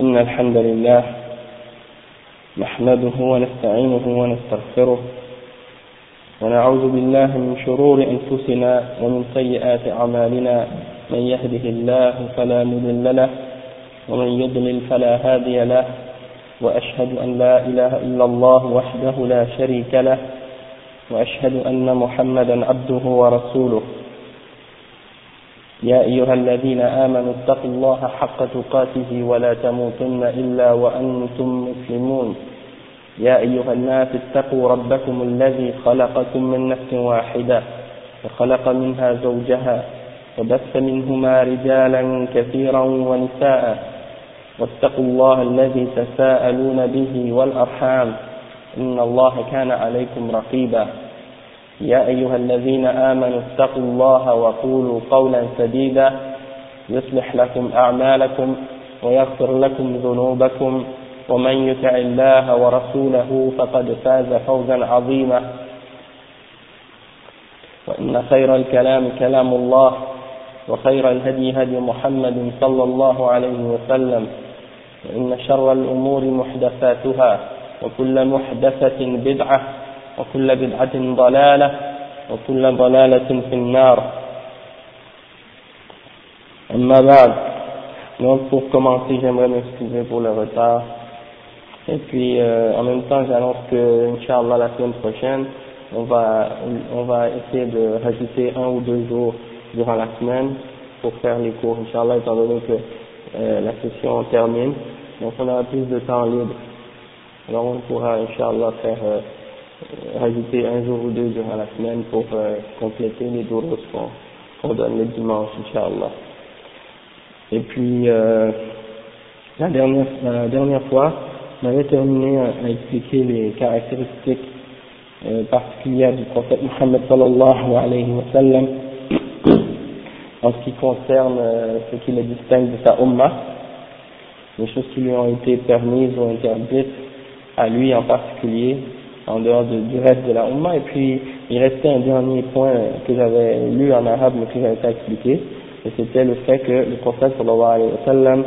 إن الحمد لله نحمده ونستعينه ونستغفره ونعوذ بالله من شرور أنفسنا ومن سيئات أعمالنا من يهده الله فلا مضل له ومن يضلل فلا هادي له وأشهد أن لا إله إلا الله وحده لا شريك له وأشهد أن محمدا عبده ورسوله يا أيها الذين آمنوا اتقوا الله حق تقاته ولا تموتن إلا وأنتم مسلمون يا أيها الناس اتقوا ربكم الذي خلقكم من نفس واحدة وخلق منها زوجها وبث منهما رجالا كثيرا ونساء واتقوا الله الذي تساءلون به والأرحام إن الله كان عليكم رقيبا يا أيها الذين آمنوا اتقوا الله وقولوا قولا سديدا يصلح لكم أعمالكم ويغفر لكم ذنوبكم ومن يطع الله ورسوله فقد فاز فوزا عظيما وإن خير الكلام كلام الله وخير الهدي هدي محمد صلى الله عليه وسلم وإن شر الأمور محدثاتها وكل محدثة بدعة وكل بدعة ضلالة وكل ضلالة في النار. أما بعد, donc pour commencer, j'aimerais m'excuser pour le retard. Et puis en même temps, j'annonce que, Inch'Allah, la semaine prochaine, on va essayer de rajouter 1 ou 2 jours durant la semaine pour faire les cours, Inch'Allah, étant donné que la session termine. Donc on aura plus de temps libre. Alors on pourra, Inch'Allah, faire rajouter 1 jour ou 2 durant la semaine pour compléter les durus qu'on donne le dimanche, Inch'Allah. Et puis la dernière fois, on avait terminé à expliquer les caractéristiques particulières du prophète Muhammad sallallahu alayhi wa sallam en ce qui concerne ce qui le distingue de sa ummah, les choses qui lui ont été permises ou interdites à lui en particulier, en dehors du reste de la ummah. Et puis il restait un dernier point que j'avais lu en arabe mais que j'avais pas expliqué, et c'était le fait que le prophète sallallahu alayhi wa sallam,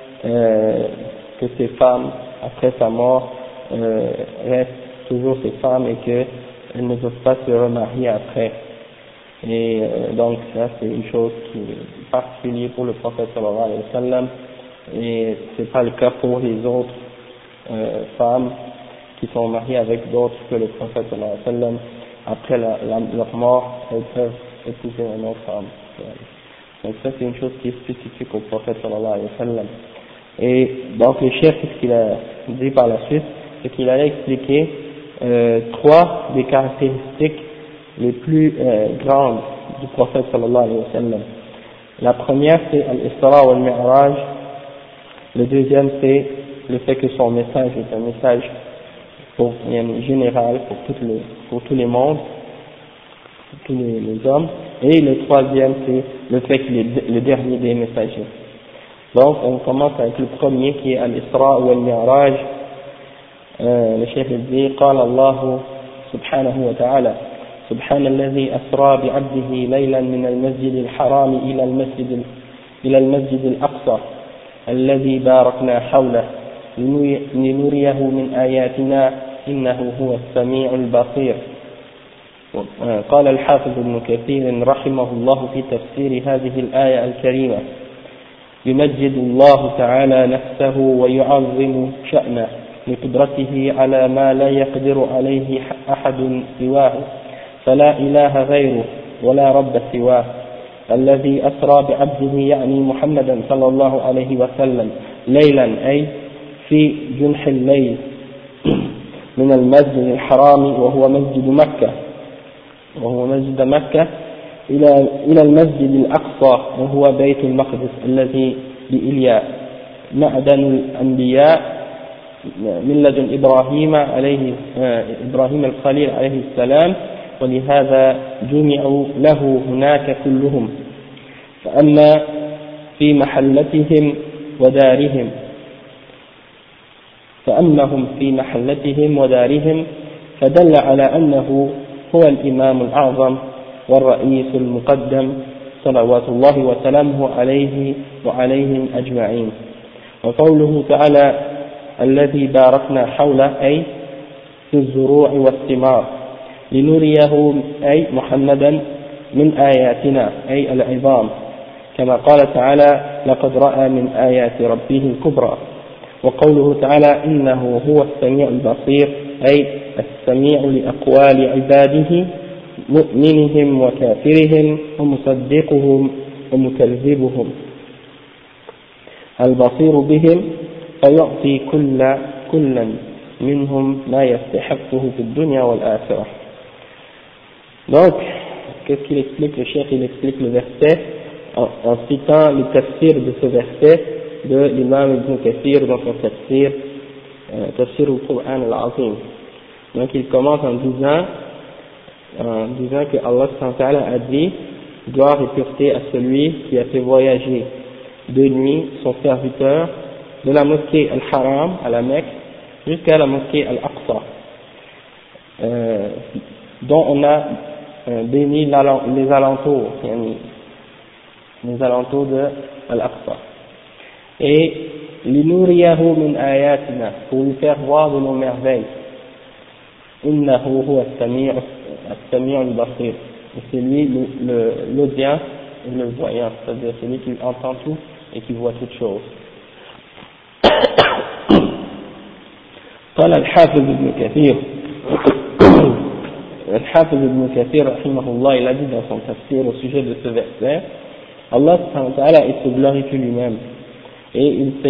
que ses femmes après sa mort restent toujours ses femmes et qu'elles ne peuvent pas se remarier après. Et donc ça c'est une chose qui est particulière pour le prophète sallallahu alayhi wa sallam, et c'est pas le cas pour les autres femmes qui sont mariées avec d'autres que le prophète sallallahu alayhi wa sallam. Après leur mort, elles peuvent épouser une autre femme. Donc ça c'est une chose qui est spécifique au prophète sallallahu alayhi wa sallam. Et donc le chef, ce qu'il a dit par la suite, c'est qu'il allait expliquer 3 des caractéristiques les plus grandes du prophète sallallahu alayhi wa sallam. La première c'est al-Isra wal Mi'raj. Le deuxième c'est le fait que son message est un message général pour tous les mondes, pour tous les hommes. Et le troisième c'est le fait qu'il est le dernier des messagers. Donc on commence avec le premier qui est al-Isra wal Mi'raj. Le chef dit قال الله سبحانه وتعالى سبحان الذي أسرى بعبده ليلا من المسجد الحرام إلى المسجد الأقصى الذي باركنا حوله لنريه من آياتنا إنه هو السميع البصير. قال الحافظ ابن كثير رحمه الله في تفسير هذه الآية الكريمة يمجد الله تعالى نفسه ويعظم شأنه لقدرته على ما لا يقدر عليه أحد سواه فلا إله غيره ولا رب سواه الذي أسرى بعبده يعني محمدا صلى الله عليه وسلم ليلا أي في جنح الليل من المسجد الحرام وهو مسجد مكة إلى المسجد الأقصى وهو بيت المقدس الذي بإليا معدن الأنبياء من لدن إبراهيم الخليل عليه السلام ولهذا جمعوا له هناك كلهم فأما في محلتهم ودارهم فدل على أنه هو الإمام الأعظم والرئيس المقدم صلوات الله وسلامه عليه وعليهم أجمعين. وقوله تعالى الذي باركنا حوله أي في الزروع والثمار لنريه أي محمدا من آياتنا أي العظام كما قال تعالى لقد رأى من آيات ربه الكبرى. وقوله تعالى إنه هو السميع البصير أي السميع لأقوال عباده مؤمنهم وكافرهم ومصدقهم ومكذبهم البصير بهم فيعطي كلا منهم ما يستحقه في الدنيا والآخرة. Donc, qu'est-ce qu'il explique? Le cheikh, il explique le verset en citant le tafsir de ce verset de l'imam Ibn Kathir dans son tafsir al-Qur'an al-Azim. Donc il commence en disant que Allah a dit gloire et pureté à celui qui a fait voyager de nuit son serviteur de la mosquée Al-Haram à la Mecque jusqu'à la mosquée Al-Aqsa, dont on a béni les alentours de Al-Aqsa. Et linuriyahu min ayatina, pour lui faire voir de nos merveilles. Innahu huwa as-sami'u al-basir. C'est lui l'audient et le voyant, c'est-à-dire celui qui entend tout et qui voit toutes choses. قال الحافظ ابن كثير رحمه الله, il a dit dans son tafsir au sujet de ce verset, Allah subhanahu wa ta'ala, il se glorifie lui-même et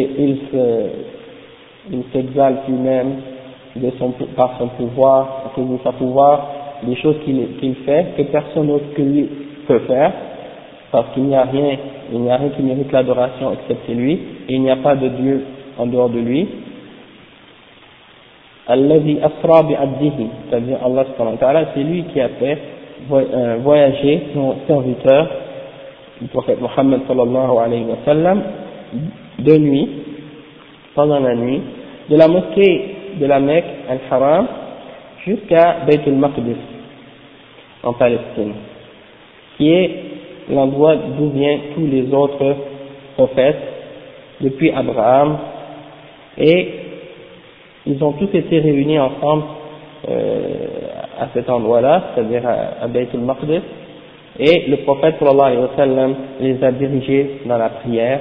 il s'exalte lui-même par son pouvoir, à cause de sa pouvoir, des choses qu'il fait que personne d'autre que lui peut faire, parce qu'il n'y a rien qui mérite l'adoration excepté lui, et il n'y a pas de Dieu en dehors de lui. Alladhi asra bi'abdihi, c'est-à-dire Allah subhanahu wa ta'ala, c'est lui qui a fait voyager son serviteur, le prophète Mohammed sallallahu alayhi wa sallam, de nuit, pendant la nuit, de la mosquée de la Mecque al-Haram jusqu'à Bayt al-Maqdis en Palestine, qui est l'endroit d'où viennent tous les autres prophètes depuis Abraham, et ils ont tous été réunis ensemble à cet endroit-là, c'est-à-dire à Bayt al-Maqdis, et le prophète sallallahu alayhi wa sallam les a dirigés dans la prière.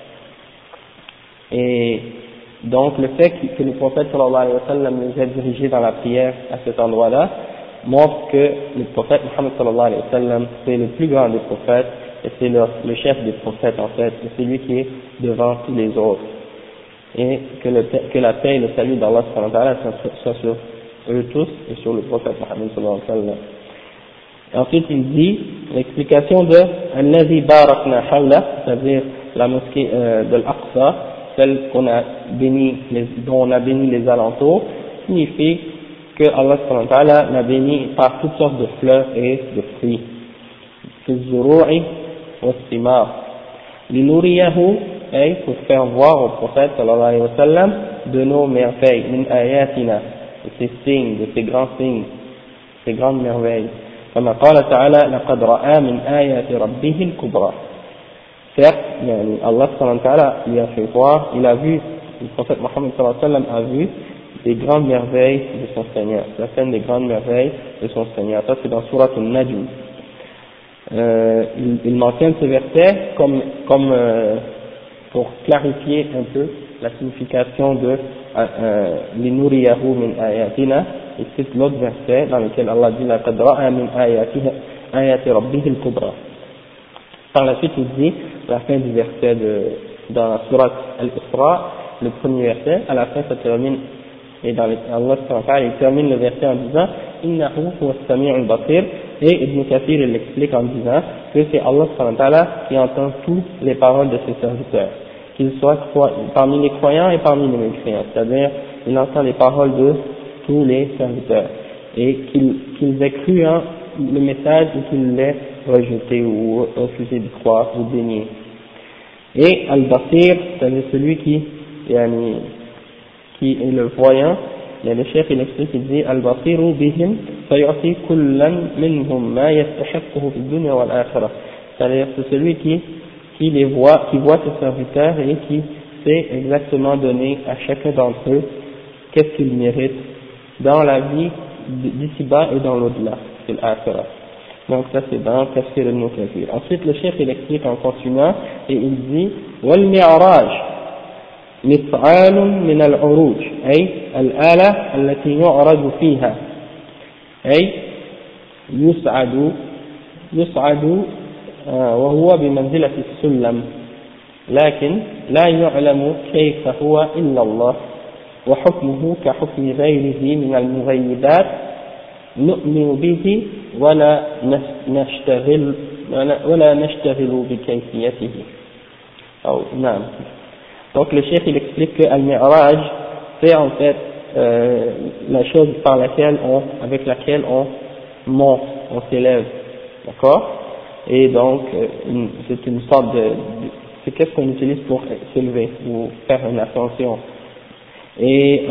Et donc le fait que le prophète sallallahu alayhi wa sallam les a dirigés dans la prière à cet endroit-là montre que le prophète Muhammad sallallahu alayhi wa sallam c'est le plus grand des prophètes et c'est le chef des prophètes en fait, et c'est lui qui est devant tous les autres, et que la paix et le salut d'Allah sallallahu alayhi wa sallam soient sur eux tous et sur le prophète Muhammad sallallahu alayhi wa sallam. Ensuite il dit l'explication de Alladhi barakna hawla, c'est-à-dire la mosquée de l'Aqsa, celle dont on a béni les alentours, signifie que Allah subhanahu wa ta'ala l'a béni par toutes sortes de fleurs et de fruits. Fi zuru'i wa thimar. Linuriyahu, pour faire voir au prophète sallallahu alayhi wa sallam de nos merveilles, min ayatina, de ses signes, de ses grands signes, ses grandes merveilles. كما قال تعالى لقد رأى من آيات ربه الكبرى. Certes, Allah subhanahu wa ta'ala lui a fait voir, il a vu, le prophète Mohammed sallallahu alayhi wa sallam a vu des grandes merveilles de son Seigneur, certaines des grandes merveilles de son Seigneur. Ça c'est dans Surat al-Najm. Il mentionne ce verset comme pour clarifier un peu la signification de linuriyahu min ayatina. Et c'est l'autre verset dans lequel Allah dit laqad ra'a min ayati rabbihi al-kubra. Par la suite il dit, à la fin du verset dans Surat al-Isra, le premier verset, à la fin ça termine, et dans Allah il termine le verset en disant innahu huwa as-sami'u al-basir, et Ibn Kathir il l'explique en disant que c'est Allah qui entend toutes les paroles de ses serviteurs, qu'ils soient parmi les croyants et parmi les mécréants, c'est-à-dire il entend les paroles de tous les serviteurs, et qu'ils aient cru en le message ou qu'ils l'aient rejeté ou refusé de croire ou dénier. Et Al-Basir, c'est celui qui est le voyant, et le chef il explique, il dit Al-Basiru bihim fayu'ti kullan minhum ma yastahiqquhu fi dunya wal akhirah, c'est-à-dire c'est celui qui les voit, qui voit ses serviteurs et qui sait exactement donner à chacun d'entre eux qu'est-ce qu'il mérite dans la vie d'ici-bas et dans l'au-delà, c'est l'akhirah. Donc ça c'est dans Tafsir Ibn Kathir. Ensuite le cheikh il explique en continuant et il dit wal mi'raj mif'al min al-uruj ay al-ala allati yu'raju fiha ay يصعد وهو بمنزلة السلم لكن لا يعلم كيف هو إلا الله وحكمه كحكم غيره من المغيبات نؤمن به ولا نشتغل بكيفيته أو نعم. Donc le cheikh il explique que Al-Mi'raj c'est en fait la chose avec laquelle on monte, on s'élève, d'accord? Et donc c'est une sorte c'est qu'est-ce qu'on utilise pour s'élever ou faire une ascension. Et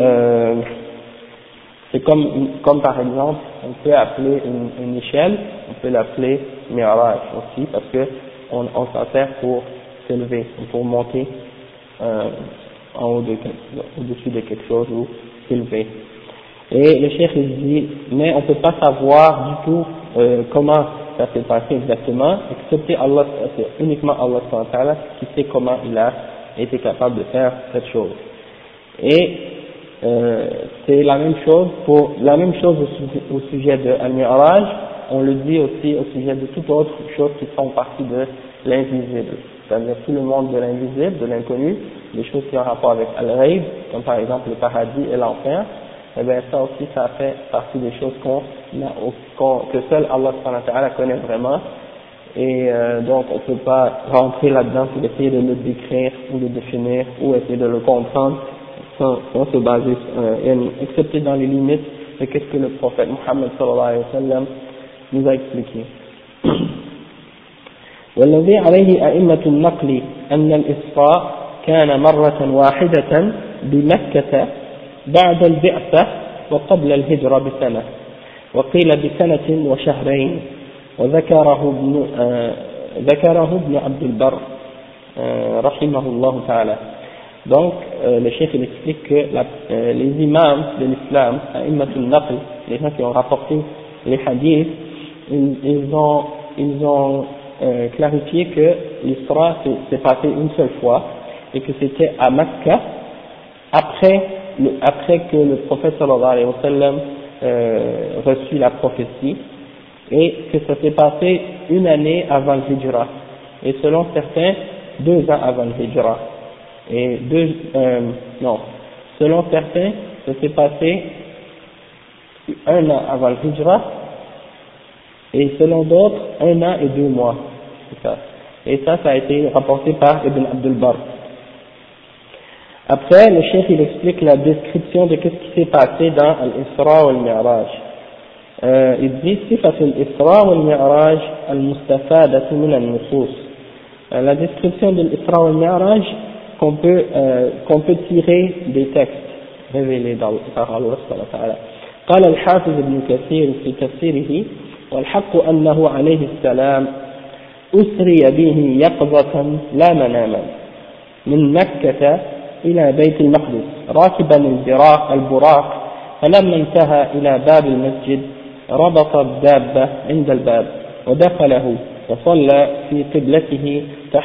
c'est comme par exemple, on peut appeler une échelle, on peut l'appeler Mi'raj aussi, parce que on s'en sert pour s'élever, pour monter en haut au-dessus de quelque chose ou s'élever. Et le cheikh il dit, mais on ne peut pas savoir du tout comment ça s'est passé exactement, excepté Allah, c'est uniquement Allah qui sait comment il a été capable de faire cette chose. Et c'est la même chose au sujet de Al-Mi'raj, on le dit aussi au sujet de toutes autres choses qui font partie de l'invisible, c'est-à-dire tout le monde de l'invisible, de l'inconnu, les choses qui ont rapport avec Al-Ghaib, comme par exemple le paradis et l'enfer. Eh bien ça aussi ça fait partie des choses que seul Allah connaît vraiment, et donc on ne peut pas rentrer là-dedans pour essayer de le décrire ou de le définir ou essayer de le comprendre sans se baser, excepté dans les limites de ce que le prophète Muhammad sallallahu alayhi wa sallam nous a expliqué. والذي عليه أئمة النقل أن الإسراء كان مرة واحدة بمكة بعد البعثة وقبل الهجرة بسنة وقيل بسنة وشهرين وذكره ابن عبد البر رحمه الله تعالى. Donc le cheikh il explique que les imams de l'islam, a'immatul naql, les gens qui ont rapporté les hadiths, ils ont clarifié que l'Isra s'est passé une seule fois et que c'était à Mecca après que le prophète sallallahu alayhi wa sallam reçut la prophétie, et que ça s'est passé une année avant le Hijra, et selon certains 2 ans avant le Hijra, et selon certains ça s'est passé 1 an avant le Hijra, et selon d'autres 1 an et 2 mois, c'est ça. Et ça a été rapporté par Ibn Abdul Barr. Après, le cheikh il explique la description de ce qui s'est passé dans l'Isra wal Mi'raj. Il dit صفة الإسراء والمعراج المستفادة من النصوص. La description de l'Isra wal Mi'raj qu'on peut tirer des textes révélés par Allah subhanahu wa ta'ala. قال الحافظ ابن كثير في تفسيره والحق أنه عليه السلام أسري به يقظة لا مناما من مكة إلى بيت المقدس راكبا البراق فلما انتهى إلى باب المسجد ربط الدابة عند الباب ودخله وصلى في قبلته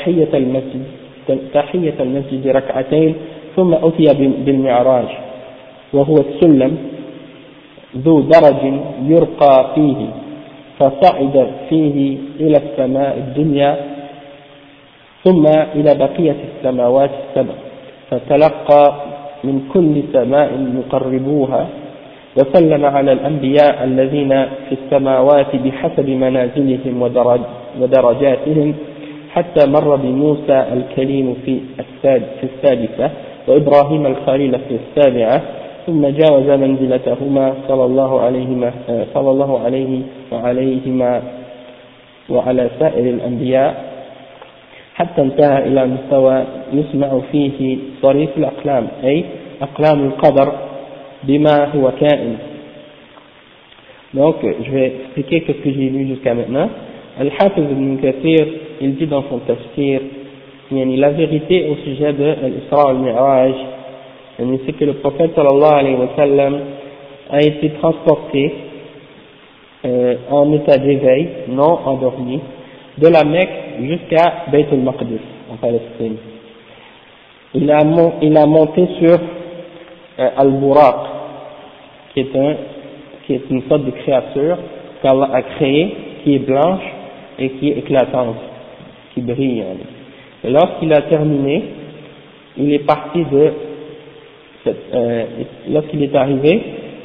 تحية المسجد ركعتين ثم أتي بالمعراج وهو السلم ذو درج يرقى فيه فصعد فيه إلى السماء الدنيا ثم إلى بقية السماوات السبع فتلقى من كل سماء يقربوها وسلم على الأنبياء الذين في السماوات بحسب منازلهم ودرجاتهم حتى مر بموسى الكليم في السادسة وإبراهيم الخليل في السابعة ثم جاوز منزلتهما صلى الله عليه وعليهما وعلى سائر الأنبياء حتى انتهى إلى مستوى يسمع فيه صريف الأقلام أي أقلام القدر بما هو كائن. Donc je vais expliquer ce que j'ai lu jusqu'à maintenant. Al-Hafiz ibn Kathir il dit dans son tafsir la vérité au sujet de l'Isra al-Mi'raj. C'est que le prophète sallallahu alayhi wa sallam a été transporté en état d'éveil, non endormi, de la Mecque jusqu'à Bayt al-Maqdis, en Palestine. Il a monté sur Al-Buraq, qui est une sorte de créature qu'Allah a créée, qui est blanche et qui est éclatante, qui brille. Et lorsqu'il a terminé, il est parti lorsqu'il est arrivé,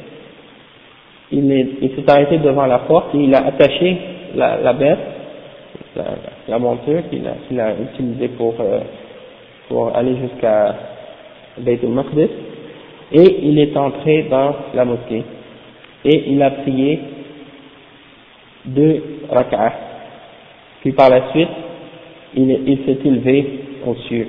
il s'est arrêté devant la porte et il a attaché la bête, la monture qu'il a utilisée pour aller jusqu'à Bayt al-Maqdis, et il est entré dans la mosquée et il a prié 2 rak'ah. Puis par la suite, il s'est élevé aux cieux.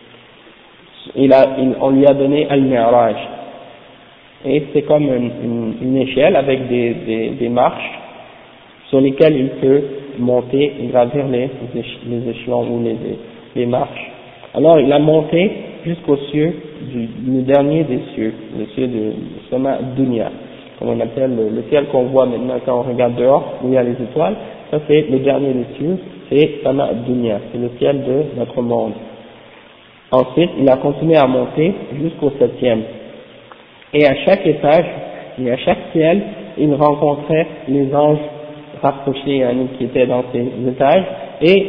On lui a donné Al-Mi'raj. Et c'est comme une échelle avec des marches sur lesquelles il peut monter et gravir les échelons ou les marches. Alors il a monté jusqu'au cieux, le dernier des cieux, le cieux de Sama Dunya, comme on appelle le ciel qu'on voit maintenant quand on regarde dehors, où il y a les étoiles. Ça c'est le dernier des cieux, c'est Sama Dunya, c'est le ciel de notre monde. Ensuite, il a continué à monter jusqu'au 7e. Et à chaque étage, et à chaque ciel, il rencontrait les anges rapprochés qui étaient dans ces étages, et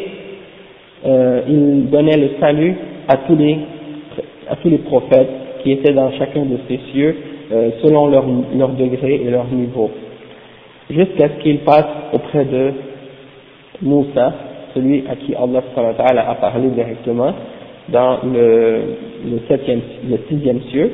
il donnait le salut à tous les prophètes qui étaient dans chacun de ces cieux, selon leur degré et leur niveau, jusqu'à ce qu'il passe auprès de Moussa, celui à qui Allah subhanahu wa ta'ala a parlé directement, dans le 6e ciel,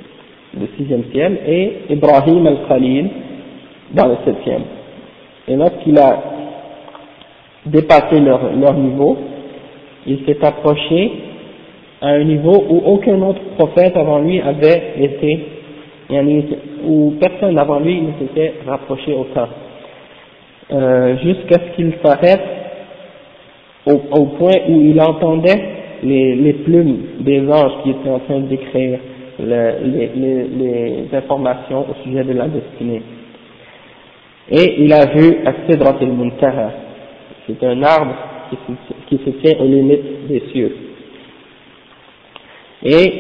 et Ibrahim al-Khalil dans le 7e. Et lorsqu'il a dépassé leur niveau, il s'est approché à un niveau où aucun autre prophète avant lui avait été, où personne avant lui ne s'était rapproché autant, jusqu'à ce qu'il s'arrête au point où il entendait les plumes des anges qui étaient en train d'écrire les informations au sujet de la destinée. Et il a vu As-Sidrat al-Muntaha, c'est un arbre qui se tient aux limites des cieux. Et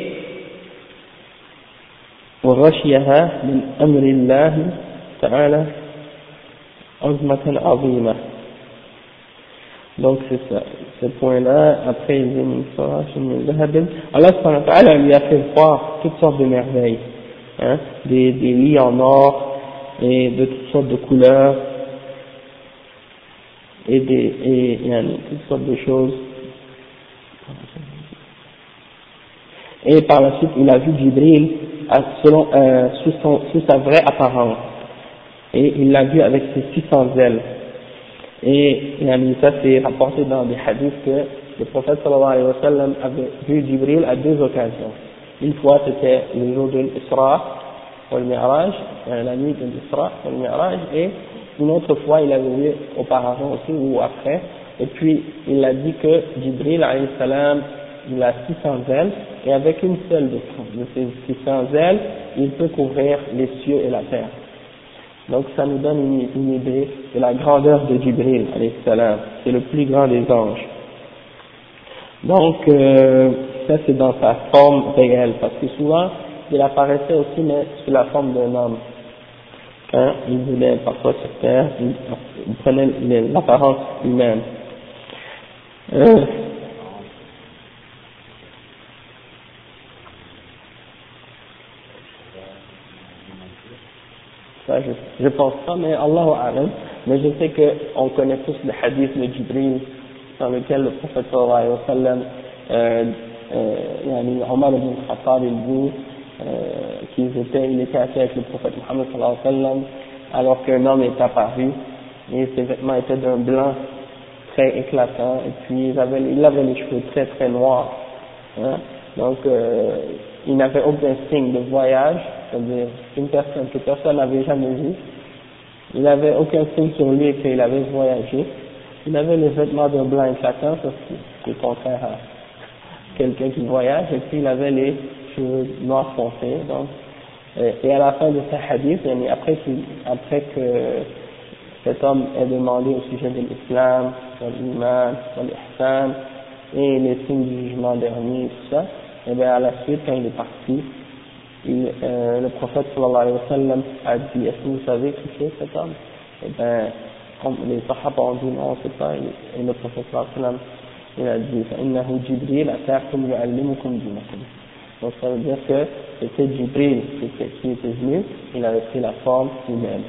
وغشيها من أمر الله تعالى عظمة عظيمة. Donc c'est ça, ce point-là. Après il dit Allah subhanahu wa ta'ala lui a fait voir toutes sortes de merveilles, des lits en or et de toutes sortes de couleurs et toutes sortes de choses. Et par la suite il a vu Jibril sous sa vraie apparence, et il l'a vu avec ses 600 ailes. Et ça c'est rapporté dans des hadiths que le prophète sallallahu alayhi wa sallam avait vu Jibril à 2 occasions. Une fois c'était le jour de l'Isra wal Mi'raj, la nuit de l'Isra wal Mi'raj, et une autre fois il avait vu auparavant aussi ou après. Et puis il a dit que Jibril alayhi salam, il a 600 ailes, et avec une seule de ces 600 ailes il peut couvrir les cieux et la terre. Donc ça nous donne une idée de la grandeur de Jibril alayhi salam, c'est le plus grand des anges. Donc ça c'est dans sa forme réelle, parce que souvent il apparaissait aussi mais sous la forme d'un homme. Quand il voulait parfois sur terre, il prenait l'apparence humaine. Ça, je pense pas, mais Allahu a'lam. Mais je sais qu'on connaît tous le hadith de Jibril, dans lequel le prophète sallallahu alayhi wa sallam, Omar ibn Khattab, il dit il était assis avec le prophète Muhammad sallallahu alayhi wa sallam, alors qu'un homme est apparu, et ses vêtements étaient d'un blanc très éclatant, et puis il avait les cheveux très très noirs. Donc, il n'avait aucun signe de voyage, c'est-à-dire une personne que personne n'avait jamais vue. Il n'avait aucun signe sur lui qu'il avait voyagé. Il avait les vêtements d'un blanc éclatant, ça c'est contraire quelqu'un qui voyage, et puis il avait les cheveux noirs foncés, donc, et à la fin de ce hadith, après que cet homme ait demandé au sujet de l'islam, de l'iman, de l'ihsan, et les signes du jugement dernier, tout ça, et bien à la suite, quand il est parti, le prophète sallallahu alayhi wa sallam a dit, est-ce que vous savez qui c'est cet homme? Et bien, les sahaba ont dit non, c'est pas, et le prophète sallallahu alayhi wa sallam, il a dit, فإنه جبريل أتاكم يعلمكم دينكم. Donc ça veut dire que c'était Jibril qui était venu, il avait pris la forme humaine.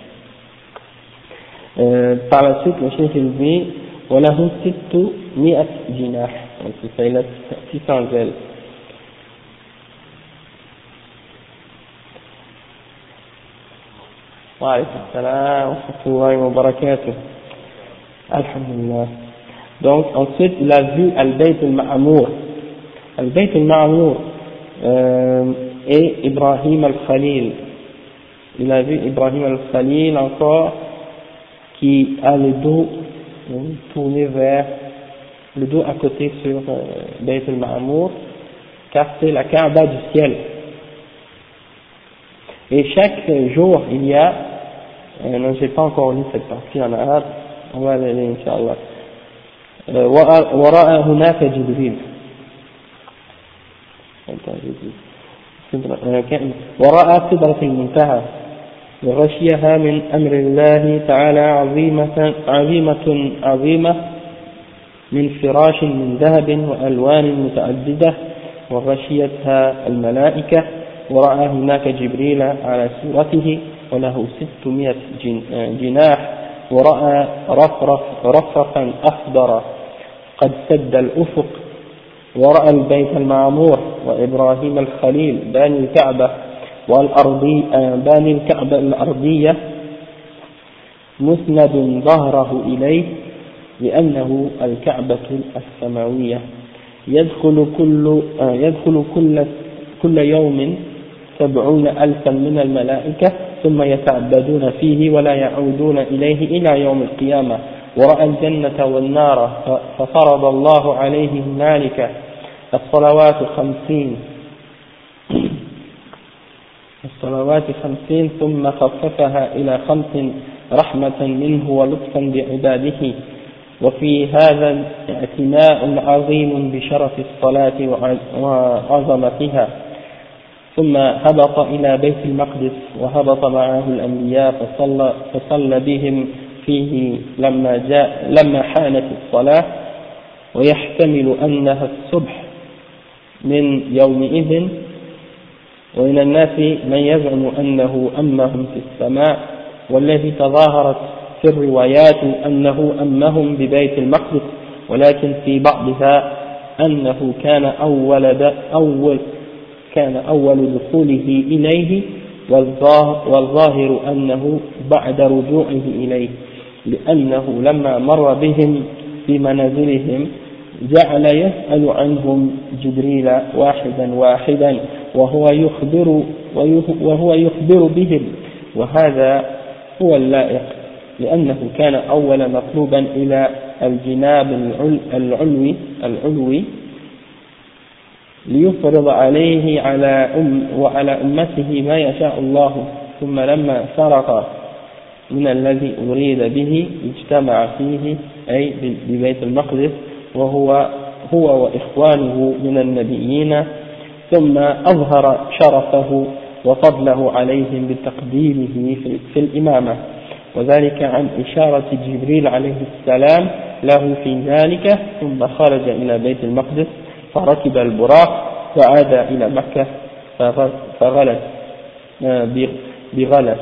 Par la suite, le cheikh il dit, وله 600 جناح, donc c'est ça, il a 600 ailes. وعليكم السلام ورحمة الله وبركاته. Alhamdulillah. Donc ensuite il a vu Al-Bayt al-Ma'amour. Al-Bayt al-Ma'amour et Ibrahim al-Khalil. Il a vu Ibrahim al-Khalil encore qui a le dos tourné vers le dos à côté sur Bayt al-Ma'amour, car c'est la Kaaba du ciel. Et chaque jour il y a, non j'ai pas encore lu cette partie en arabe, on va aller Inch'Allah. ورأى هناك جبريل ورأى سدرة المنتهى وغشيها من أمر الله تعالى عظيمة من فراش من ذهب وألوان متعددة وغشيتها الملائكة. ورأى هناك جبريل على صورته وله 600 جناح. ورأى رفرفا أخضر قد سد الأفق. ورأى البيت المعمور وإبراهيم الخليل باني الكعبة باني الكعبة الأرضية مسند ظهره إليه لأنه الكعبة السماوية. يدخل كل يوم 70,000 من الملائكة ثم يتعبدون فيه ولا يعودون إليه إلى يوم القيامة. ورأى الجنة والنار ففرض الله عليه هنالك الصلوات 50 ثم خففها إلى 5 رحمة منه ولطفا بعباده. وفي هذا اعتناء عظيم بشرف الصلاة وعظمتها. ثم هبط إلى بيت المقدس وهبط معه الأنبياء فصلى بهم فيه لما حانت الصلاة. ويحتمل أنها الصبح من يومئذ. ومن الناس من يزعم أنه أمهم في السماء والذي تظاهرت في الروايات أنه أمهم ببيت المقدس ولكن في بعضها أنه كان أول دخوله إليه والظاهر أنه بعد رجوعه إليه لأنه لما مر بهم في منازلهم جعل يسأل عنهم جبريل واحدا وهو يخبر بهم. وهذا هو اللائق لأنه كان أول مطلوبا إلى الجناب العلوي ليفرض عليه وعلى أمته ما يشاء الله. ثم لما فرغ من الذي أريد به اجتمع فيه أي ببيت المقدس وهو وإخوانه من النبيين. ثم أظهر شرفه وفضله عليهم بتقديمه في الإمامة. وذلك عن إشارة جبريل عليه السلام له في ذلك. ثم خرج إلى بيت المقدس فركب البراق وعاد إلى مكة فغلت بغلس.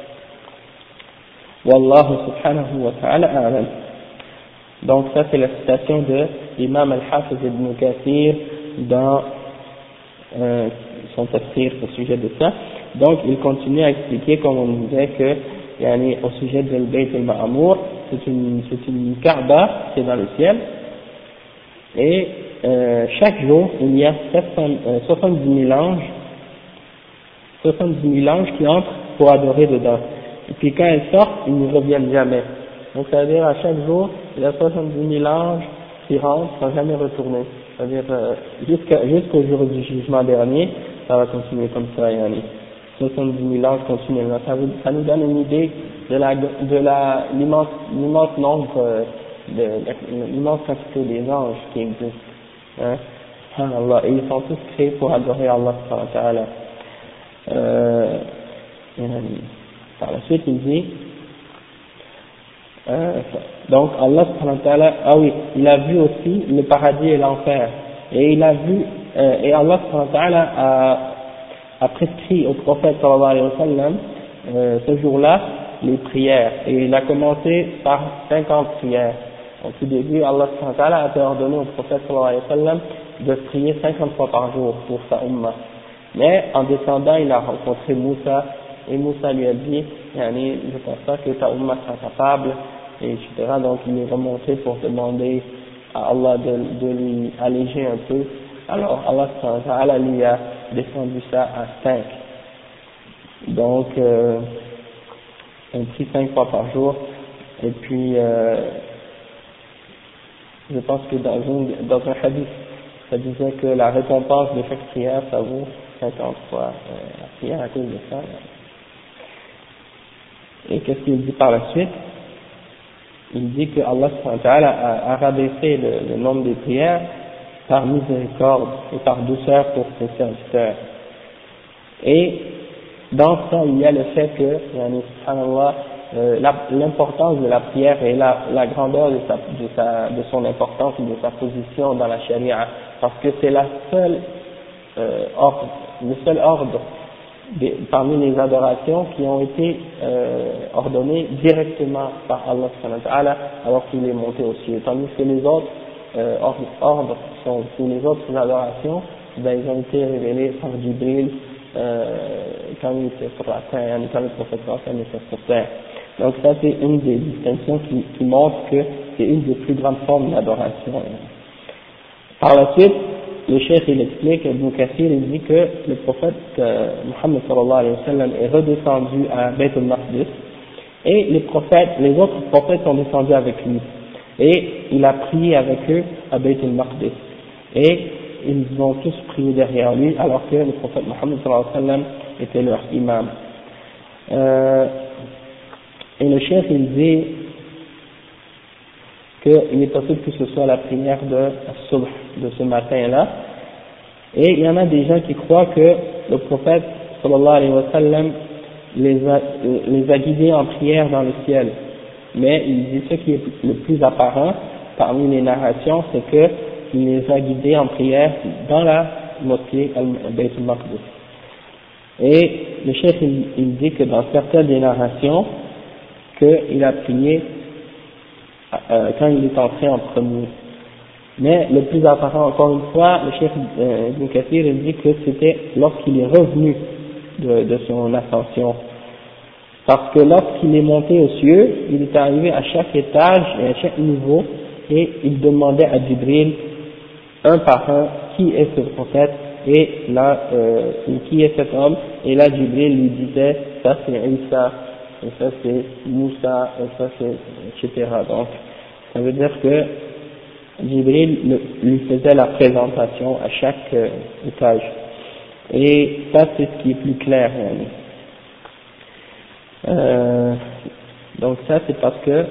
والله سبحانه وتعالى أعلم. Donc ça c'est la citation de l'imam al-Hafiz ibn Kathir dans son tafsir au sujet de ça. Donc il continue à expliquer, comme on disait, que au sujet de Bayt al-Ma'amour, c'est une Kaaba qui est dans le ciel, et chaque jour il y a 70 000 anges qui entrent pour adorer dedans. Et puis quand elles sortent, ils ne reviennent jamais. Donc ça veut dire à chaque jour, il y a 70 000 anges qui rentrent sans jamais retourner. c'est-à-dire jusqu'au jour du jugement dernier, ça va continuer comme ça, yani 70 000 ans continuellement. Ça nous donne une idée de l'immense nombre, l'immense quantité des anges qui existent. Hein? Subhanallah. Et ils sont tous créés pour adorer Allah subhanahu wa ta'ala. Par la suite, il dit, donc Allah subhanahu wa ta'ala, ah oui, il a vu aussi le paradis et l'enfer. Et il a vu, et Allah subhanahu wa ta'ala a prescrit au prophète sallallahu alayhi wa sallam, ce jour-là, les prières. Et il a commencé par 50 prières. Au tout début, Allah subhanahu wa ta'ala a ordonné au prophète sallallahu alayhi wa sallam de prier 50 fois par jour pour sa ummah. Mais en descendant, il a rencontré Moussa, et Moussa lui a dit, yani, je pense pas que ta ummah sera capable, et etc. Donc il est remonté pour demander à Allah de lui alléger un peu. Alors Allah subhanahu wa ta'ala lui a descendu ça à 5. Donc on prie 5 fois par jour, et puis je pense que dans un hadith, ça disait que la récompense de chaque prière, ça vaut 50 fois la prière à cause de ça. Et qu'est-ce qu'il dit par la suite? Il dit que Allah subhanahu wa ta'ala a rabaissé le nombre des prières par miséricorde et par douceur pour ses serviteurs. Et dans ça, il y a le fait que, subhanallah, l'importance de la prière et la grandeur de son importance et de sa position dans la charia, parce que c'est la seule le seul ordre parmi les adorations qui ont été ordonnées directement par Allah subhanahu wa ta'ala alors qu'il est monté au ciel, tandis que les autres ordres ou les autres adorations, ben, ils ont été révélés par Jibril quand il était sur la terre, quand le prophète était sur terre. Donc ça c'est une des distinctions qui montre que c'est une des plus grandes formes d'adoration. Par la suite, le cheikh il explique, Ibn Kathir il dit que le prophète Muhammad sallallahu alayhi wa sallam est redescendu à Bayt al-Maqdis et les autres prophètes sont descendus avec lui et il a prié avec eux à Bayt al-Maqdis et ils ont tous prié derrière lui alors que le prophète Muhammad sallallahu alayhi wa sallam était leur imam. Et le cheikh il dit qu'il est possible que ce soit la prière de Subh, de ce matin-là, et il y en a des gens qui croient que le prophète sallallahu alayhi wa sallam les a guidés en prière dans le ciel, mais il dit ce qui est le plus apparent parmi les narrations, c'est qu'il les a guidés en prière dans la mosquée Bayt al-Maqdis. Et le chef il dit que dans certaines des narrations qu'il a prié quand il est entré en premier. Mais le plus apparent, encore une fois, le chef Ibn Kathir il dit que c'était lorsqu'il est revenu de son ascension. Parce que lorsqu'il est monté aux cieux, il est arrivé à chaque étage et à chaque niveau et il demandait à Jibril un par un qui est ce prophète et là qui est cet homme, et là Jibril lui disait ça c'est Isa, et ça c'est Moussa, et ça c'est etc. Donc ça veut dire que Jibril lui faisait la présentation à chaque étage, et ça c'est ce qui est plus clair. Donc ça c'est parce que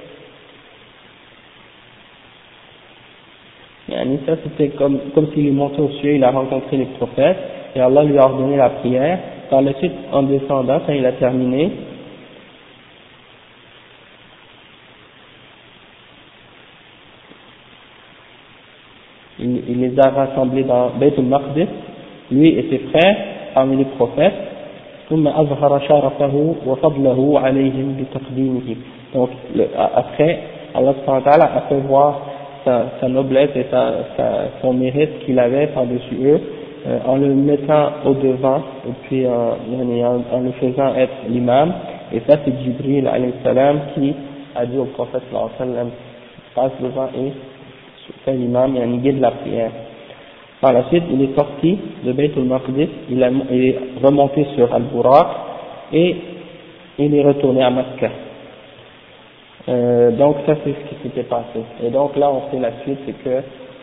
ça c'était comme s'il est monté au ciel, il a rencontré les prophètes et Allah lui a ordonné la prière. Par la suite, en descendant, quand il a terminé, il les a rassemblés dans Bayt al-Maqdis, lui et ses frères parmi les prophètes. ثم أظهر شرفه وفضله عليهم بتقديمه. Donc après, Allah subhanahu wa ta'ala a fait voir sa noblesse et son mérite qu'il avait par-dessus eux en le mettant au devant et puis en le faisant être l'imam. Et ça c'est Jibril alayhi salam qui a dit au prophète sallallahu alayhi wa sallam passe devant et fait l'imam et en guide la prière. Par la suite, il est sorti de Bayt al-Maqdis, il est remonté sur Al-Buraq et il est retourné à Makkah. Donc ça c'est ce qui s'était passé. Et donc là on sait la suite, c'est que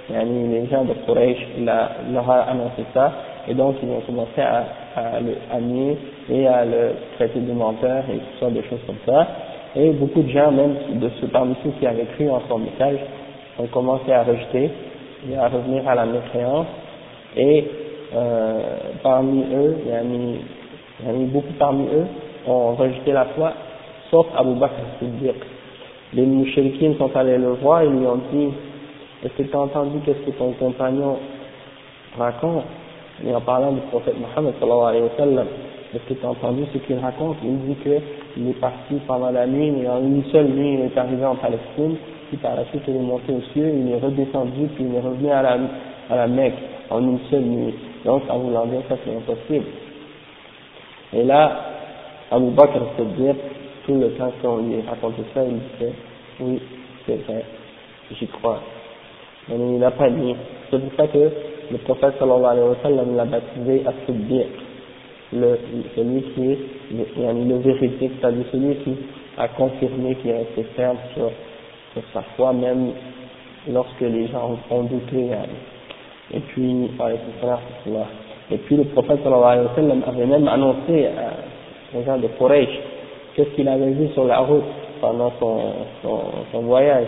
les gens de Quraysh leur a annoncé ça, et donc ils ont commencé à le nier et à le traiter de menteur et tout ça, des choses comme ça. Et beaucoup de gens, même parmi ceux qui avaient cru en son message, ont commencé à rejeter et à revenir à la mécréance. Et parmi eux, beaucoup parmi eux ont rejeté la foi, sauf Abu Bakr as-Siddiq. Les mouchriquines sont allés le voir et lui ont dit: est-ce que tu as entendu qu'est-ce que ton compagnon raconte? Et en parlant du prophète Mohammed sallallahu alayhi wa sallam, est-ce que tu as entendu ce qu'il raconte? Il dit qu'il est parti pendant la nuit, et en une seule nuit il est arrivé en Palestine, puis par la suite il est monté aux cieux, il est redescendu, puis il est revenu à la Mecque en une seule nuit. Donc en voulant dire ça c'est impossible. Et là, Abu Bakr as-Siddiq, tout le temps qu'on lui racontait ça, il disait: oui, c'est vrai, j'y crois. Mais il n'a pas dit. C'est pour ça que le prophète sallallahu alayhi wa sallam l'a baptisé as-Siddiq, celui qui est le véridique, c'est-à-dire celui qui a confirmé, qui est resté ferme sur sa foi, même lorsque les gens ont douté. Et puis, et puis le prophète sallallahu alayhi wa sallam avait même annoncé aux gens de Quraysh qu'est-ce qu'il avait vu sur la route pendant son voyage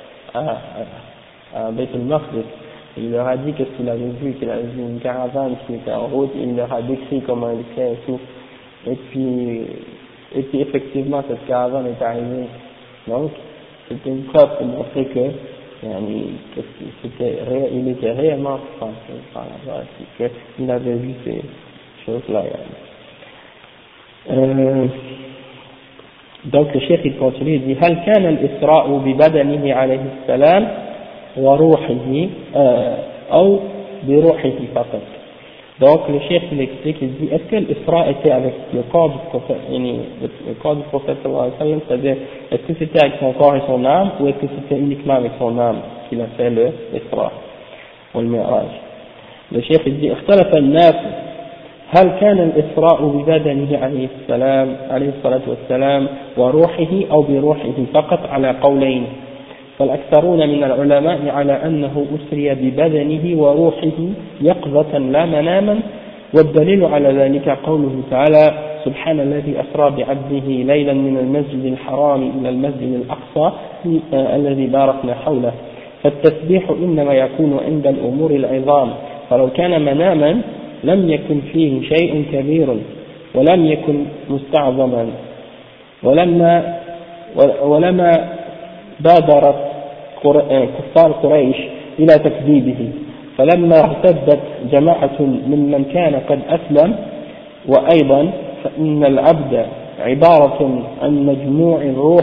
à Beit al-Maqdis. Il leur a dit qu'est-ce qu'il avait vu une caravane qui était en route, il leur a décrit comment il était et tout. Et puis effectivement cette caravane est arrivée. Donc c'était une preuve pour montrer que il était réellement français par là-bas, qu'il avait vu ces choses-là. Donc le cheikh il continue, il dit: هل كان الإسراء ببدنه عليه السلام وروحه أو بروحه فقط. Donc le cheikh il explique, il dit: est-ce que l'Isra était avec le corps du prophète, le corps du prophète sallallahu alayhi wa sallam, c'est-à-dire est-ce que c'était avec son corps et son âme, ou est-ce que c'était uniquement avec son âme qu'il a fait le Isra ou le Mi'raj? Le cheikh il dit: اختلف الناس هل كان الإسراء ببدنه عليه السلام عليه الصلاة والسلام وروحه أو بروحه فقط على قولين، فالأكثرون من العلماء على أنه أسري ببدنه وروحه يقظة لا مناما، والدليل على ذلك قوله تعالى: سبحان الذي أسرى بعبده ليلا من المسجد الحرام إلى المسجد الأقصى الذي باركنا حوله. فالتسبيح إنما يكون عند الأمور العظام، فلو كان مناما لم يكن فيه شيء كبير ولم يكن مستعظما، ولما بادرت كفار قريش إلى تكذيبه، فلما ارتدت جماعة ممن كان قد أسلم. وأيضا فإن العبد عبارة عن مجموع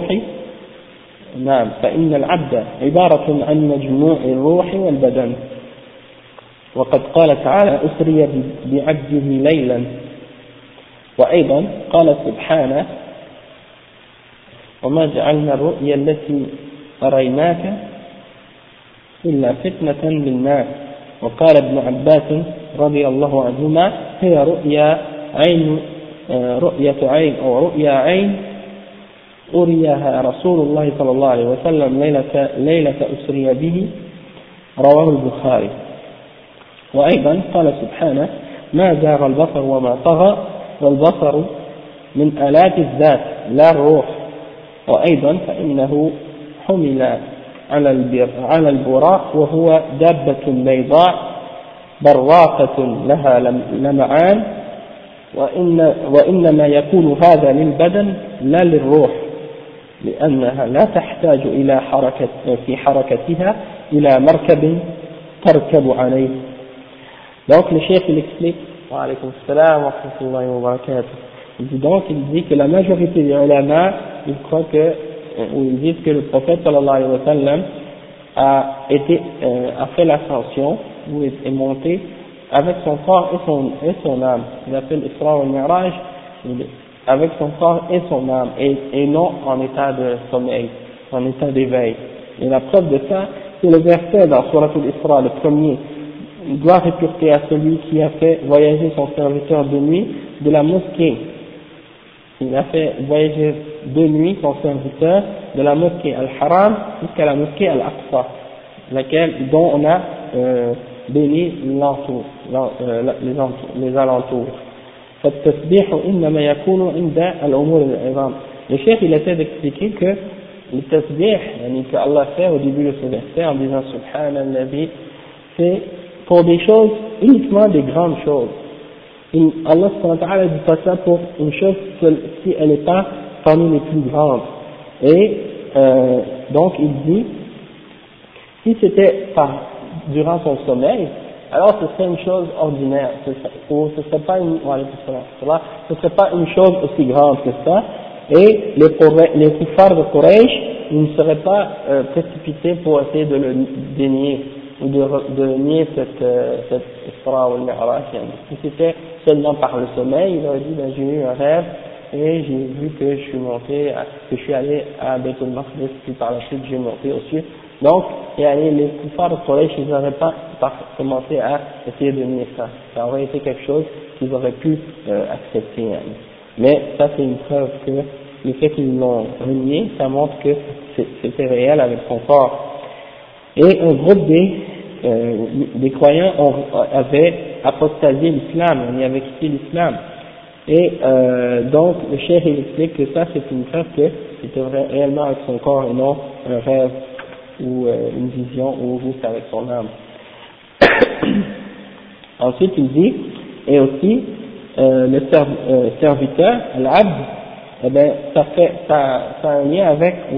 الروح والبدن، وقد قال تعالى: أسري بعبده ليلا. وأيضا قال سبحانه: وما جعلنا الرؤيا التي أريناك إلا فتنة للناس. وقال ابن عباس رضي الله عنهما: هي رؤيا عين أريها رسول الله صلى الله عليه وسلم ليلة أسري به، رواه البخاري. وأيضا قال سبحانه: ما زاغ البصر وما طغى، والبصر من آلات الذات لا الروح. وأيضا فإنه حمل على البراق، وهو دابة بيضاء براقة لها لمعان، وإنما يكون هذا للبدن لا للروح، لأنها لا تحتاج في حركتها إلى مركب تركب عليه. Donc le chef il explique, wa alaykum assalam wa rahmatullahi wa barakatuh, il dit que la majorité des ulama, ils croient que, ou ils disent que le prophète sallallahu alayhi wa sallam a fait l'ascension, ou est monté avec son corps et son âme. Il appelle Isra wal Mi'raj avec son corps et son âme, et non en état de sommeil, en état d'éveil. Et la preuve de ça, c'est le verset dans Surat al-Isra, le premier: gloire et pureté à celui qui a fait voyager son serviteur de nuit de la mosquée. Il a fait voyager de nuit son serviteur de la mosquée Al-Haram jusqu'à la mosquée Al-Aqsa. dont on a béni les alentours. فالتسبيح إنما يكون عند الأمور العظام. Le chef il essaie d'expliquer que le tasbih que Allah fait au début de ce verset en disant Subhanallah, c'est pour des choses, uniquement des grandes choses. Allah ne dit pas ça pour une chose si elle n'est pas parmi les plus grandes. Et donc il dit, si c'était durant son sommeil, alors ce serait une chose ordinaire, ou ce serait pas une chose aussi grande que ça, et les kuffars de Quraysh, ils ne seraient pas précipités pour essayer de le dénier, ou de nier cette Isra ou al-Mi'raj. Si c'était seulement par le sommeil, il aurait dit, j'ai eu un rêve, et j'ai vu que je suis allé à Beit al-Maqdis, puis par la suite j'ai monté au ciel. Donc, les kuffars de Quraysh, ils n'auraient pas commencé à essayer de nier ça. Ça aurait été quelque chose qu'ils auraient pu accepter. Mais ça, c'est une preuve que le fait qu'ils l'ont renié, ça montre que c'était réel avec son corps. Et un groupe des croyants avait apostasié l'islam, on y avait quitté l'islam. Et donc, le cheikh il explique que ça, c'est une preuve que c'était réellement avec son corps et non un rêve ou une vision ou juste avec son âme. Ensuite, il dit, et aussi, le serviteur, l'abd, eh ben, ça a un lien avec, ou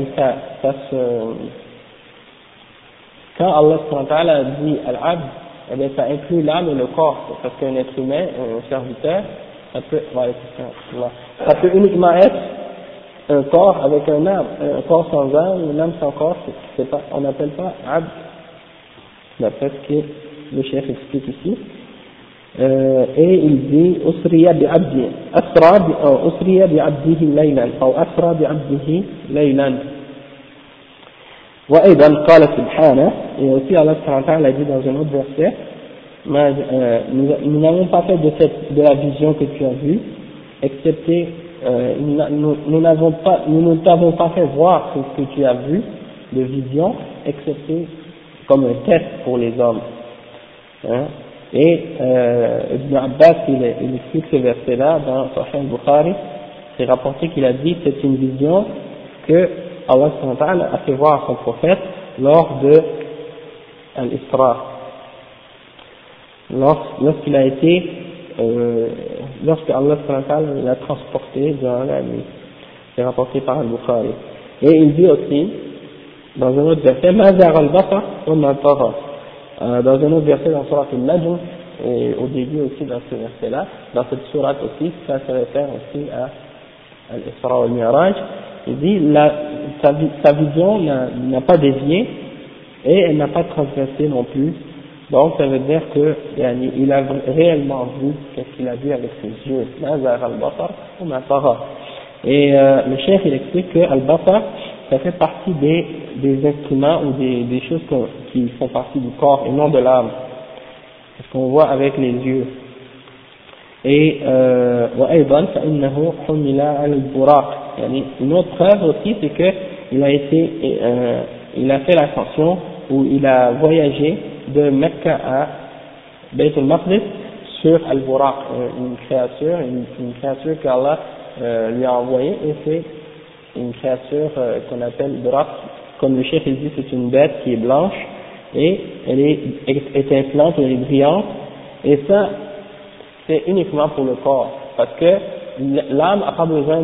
quand Allah a dit al-abd, eh bien, ça inclut l'âme et le corps, parce qu'un être humain, un serviteur, ça peut uniquement être un corps avec un âme, un corps sans âme, une âme sans corps, on n'appelle pas abd, d'après ce que le chef explique ici. Et il dit أسري بعبده أسري بعبده ليلا أو أسرى بعبده ليلا. وأيضا قال سبحانه, et aussi Allah subhanahu wa ta'ala a dit dans un autre verset, nous n'avons pas fait de la vision que tu as vue, excepté nous ne t'avons pas fait voir ce que tu as vu de vision, excepté comme un test pour les hommes. Et Ibn Abbas, il explique ce verset-là dans Sahih al-Bukhari, c'est rapporté qu'il a dit c'est une vision que Allah a fait voir à son prophète lors de l'Isra, lorsqu'il a été lorsque Allah l'a transporté dans la nuit. C'est rapporté par al-Bukhari. Et il dit aussi dans un autre verset ma zagha al-basar wa ma tagha. Dans un autre verset dans Surat al-Najm, et au début aussi dans ce verset-là, dans cette sourate aussi, ça se réfère aussi à l'Isra al-Mi'raj, il dit sa vision n'a pas dévié et elle n'a pas transgressé non plus, donc ça veut dire que il a réellement vu ce qu'il a vu avec ses yeux, ma zagha al-basar wa ma tagha. Et le cheikh il explique que al-basar ça fait partie des instruments ou des choses qui font partie du corps et non de l'âme, ce qu'on voit avec les yeux. Et وأيضا فإنه حمل على البراق. Une autre preuve aussi c'est que il a fait l'ascension ou il a voyagé de Mecca à Beit al-Maqdis sur al-Buraq, une créature qu'Allah lui a envoyée, et c'est une créature qu'on appelle Buraq, comme le chef il dit, c'est une bête qui est blanche et elle est étincelante, elle est brillante, et ça c'est uniquement pour le corps, parce que l'âme n'a pas besoin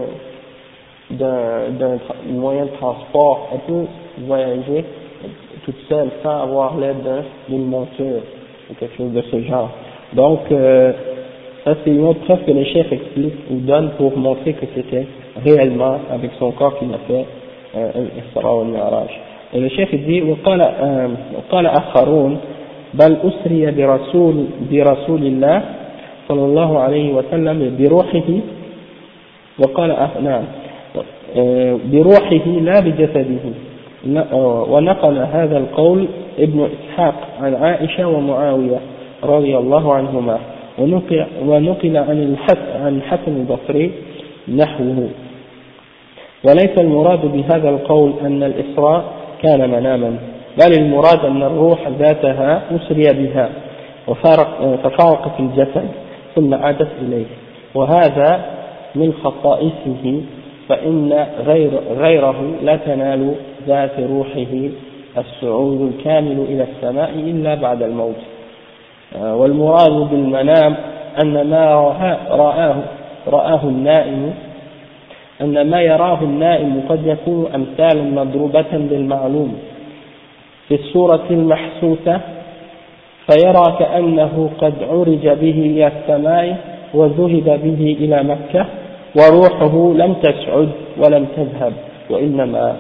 d'un moyen de transport, elle peut voyager toute seule sans avoir l'aide d'une monture ou quelque chose de ce genre. Donc ça c'est une autre preuve que le chef explique ou donne pour montrer que c'était réellement avec son corps qu'il a fait l'Isra wal Mi'raj. Et le chef dit وقال آخرون بل أسري برسول الله صلى الله عليه وسلم بروحه وقال نعم بروحه لا بجسده. ونقل هذا القول ابن إسحاق عن عائشة ومعاوية رضي الله عنهما، ونقل عن حسن البصري نحوه. وليس المراد بهذا القول أن الإسراء كان مناما، بل المراد أن الروح ذاتها أسري بها ففارقت الجسد ثم عادت إليه، وهذا من خصائصه، فإن غيره لا تنال ذات روحه الصعود الكامل إلى السماء إلا بعد الموت. والمراد بالمنام أن ما يراه النائم قد يكون أمثالا مضروبة بالمعلوم في الصورة المحسوسة، فيرى كأنه قد عرج به إلى السماء وذهب به إلى مكة وروحه لم تسعد ولم تذهب، وإنما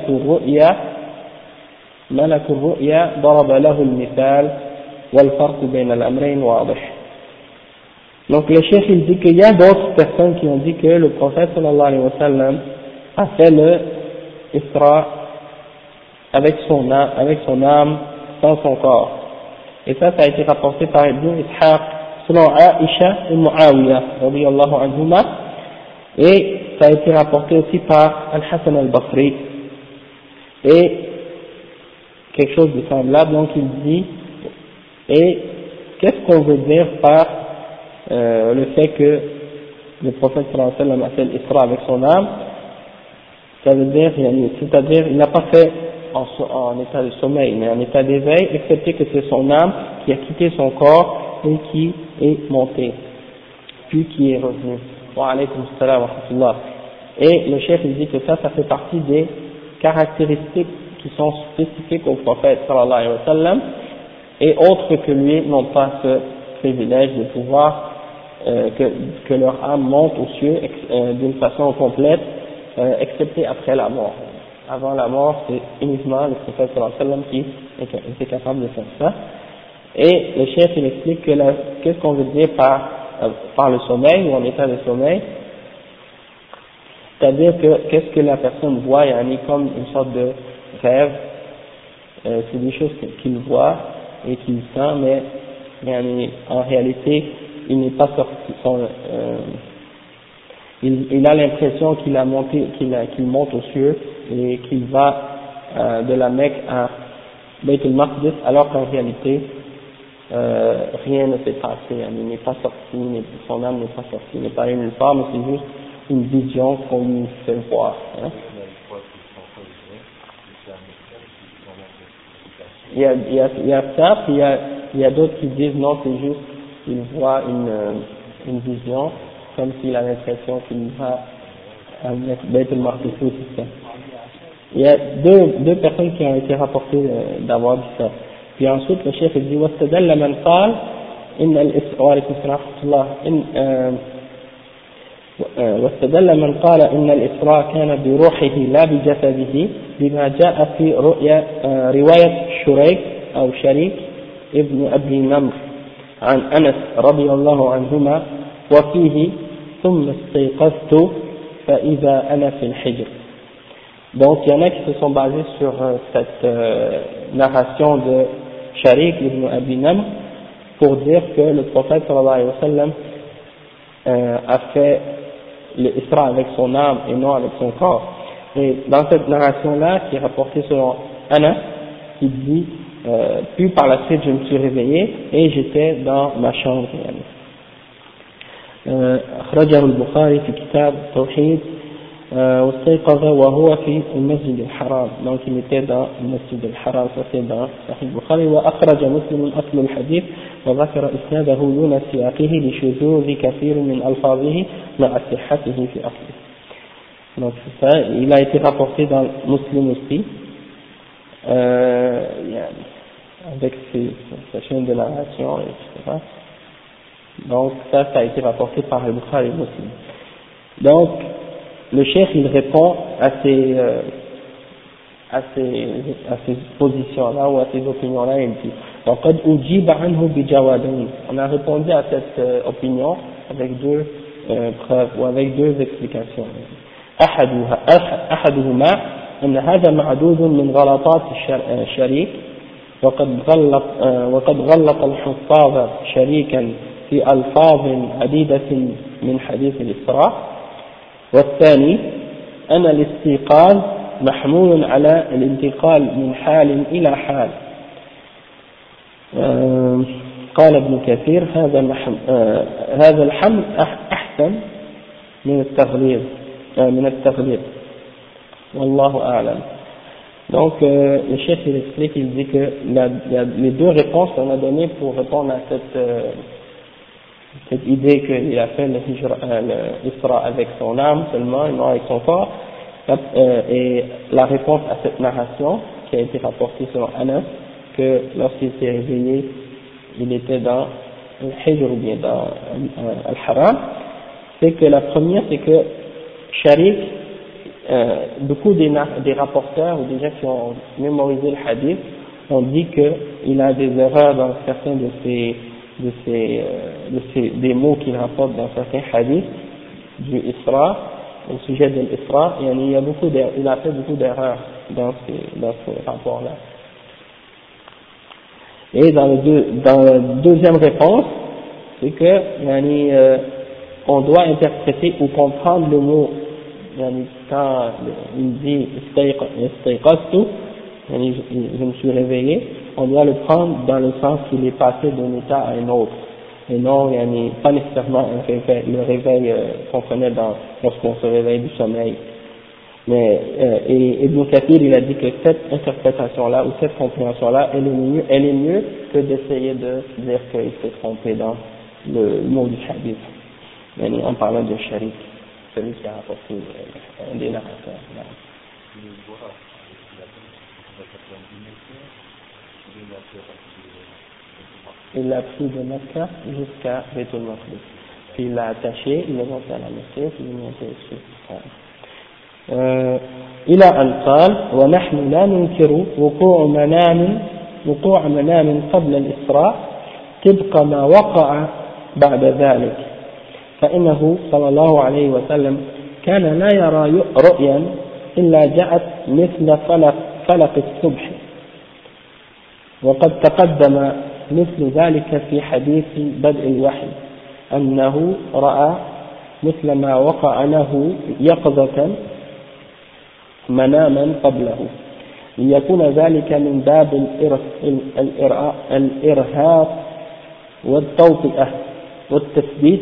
ملك الرؤيا ضرب له المثال والفرق بين الأمرين واضح. Donc le chef il dit qu'il y a d'autres personnes qui ont dit que le prophète sallallahu alayhi wa sallam a fait le Isra avec son âme sans son corps, et ça a été rapporté par Ibn Ishaq selon Aïcha et Muawiyah radiyallahu anhuma, et ça a été rapporté aussi par Al-Hassan al-Basri et quelque chose de semblable. Donc il dit, et qu'est-ce qu'on veut dire par le fait que le prophète sallallahu alayhi wa sallam a fait l'Isra avec son âme? Ça veut dire, c'est-à-dire il n'a pas fait en état de sommeil, mais en état d'éveil, excepté que c'est son âme qui a quitté son corps et qui est montée, puis qui est revenu. Wa alaykum assalam wa rahmatullah. Et le chef il dit que ça fait partie des caractéristiques qui sont spécifiques au prophète sallallahu alayhi wa sallam, et autres que lui n'ont pas ce privilège de pouvoir que leur âme monte aux cieux d'une façon complète, excepté après la mort. Avant la mort, c'est uniquement le prophète sallallahu alayhi wa sallam qui était capable de faire ça. Et le chef il explique que qu'est-ce qu'on veut dire par le sommeil ou en état de sommeil, c'est-à-dire que qu'est-ce que la personne voit, comme une sorte de rêve, c'est des choses qu'il voit et qu'il sent, mais en réalité il n'est pas sorti, il a l'impression qu'il monte aux cieux et qu'il va de la Mecque à Beit al-Maqdis, alors qu'en réalité rien ne s'est passé, il n'est pas sorti, son âme n'est pas sortie, il n'est pas allé nulle part, mais c'est juste une vision qu'on lui fait voir. Il y a ça, puis il y a d'autres qui disent non, c'est juste qu'il voit une vision, comme s'il a l'impression qu'il va à Beit al-Maqdis, tout ça. Il y a deux personnes qui ont été rapportées d'avoir dit ça. Puis ensuite le chef dit واستدل من قال إن الإسراء وعليكم السلام ورحمة الله واستدل من قال إن الإسراء كان بروحه لا بجسده بما جاء في رواية شريك أو شريك ابن أبي نمر عن أنس رضي الله عنهما وفيه ثم استيقظت فإذا أنا في الحجر. Donc il y en a qui se sont basés sur cette narration de Sharik ibn Abi Namr pour dire que le prophète sallallahu alayhi wa sallam a fait l'Isra avec son âme et non avec son corps. Et dans cette narration-là, qui est rapportée selon Anas, il dit puis par la suite je me suis réveillé et j'étais dans ma chambre. أخرجه البخاري في كتاب التوحيد واستيقظ وهو في المسجد الحرام. Donc il était dans le masjid al-Haram, ça c'est dans Sahih Bukhari. وأخرج مسلم أصل الحديث وذكر إسناده دون سياقه لشذوذ كثير من ألفاظه مع صحته في أصله. Donc c'est ça, il a été rapporté dans Muslim aussi, avec sa chaîne de narration, etc. Donc ça a été rapporté par Al-Bukhari Muslim. Donc le cheikh il répond à ces positions-là ou à ces opinions-là, il dit وقد أجيب عنه بجوابين. On a répondu à cette opinion avec deux preuves ou avec deux explications. أحدهما أن هذا معدود من غلطات الشريك وقد غلط الحفاظ شريكا في ألفاظ عديدة من حديث الإسراء. والثاني أن الاستيقاظ محمول على الانتقال من حال إلى حال. قال ابن كثير هذا الحمل أحسن من التغليظ والله أعلم. Donc le chef il explique, il dit que il y a les deux réponses qu'on a données pour répondre à cette idée qu'il a fait l'Isra avec son âme seulement et non avec son corps, et la réponse à cette narration qui a été rapportée selon Anas, que lorsqu'il s'est réveillé il était dans le Hijr ou bien dans Al-Haram, c'est que la première c'est que Sharik, beaucoup des rapporteurs ou des gens qui ont mémorisé le hadith ont dit qu'il a des erreurs dans certains des mots qu'il rapporte dans certains hadiths du Isra, au sujet de l'Isra, et il a fait beaucoup d'erreurs dans ce rapport-là. Et dans la deuxième réponse, c'est que on doit interpréter ou comprendre le mot quand il dit istayqaztu, je me suis réveillé, on doit le prendre dans le sens qu'il est passé d'un état à un autre, et non pas nécessairement le réveil qu'on connaît lorsqu'on se réveille du sommeil. Mais et Ibn Kathir il a dit que cette interprétation-là ou cette compréhension-là, elle est mieux que d'essayer de dire qu'il s'est trompé dans le mot du hadith, en parlant de Sharik, celui qui a rapporté un des narrateurs. Il l'a pris de Mecca jusqu'à Baitul Maqdis, puis il l'a attaché, il l'a monté à la mosquée, puis il l'a monté dessus. إلى أن قال ونحن لا ننكر وقوع منام قبل الإسراء طبق ما وقع بعد ذلك، فإنه صلى الله عليه وسلم كان لا يرى رؤيا إلا جاءت مثل فلق الصبح، وقد تقدم مثل ذلك في حديث بدء الوحي أنه رأى مثل ما وقع له يقظة مناما قبله، ليكون ذلك من باب الإرهاق والتوطئة والتثبيت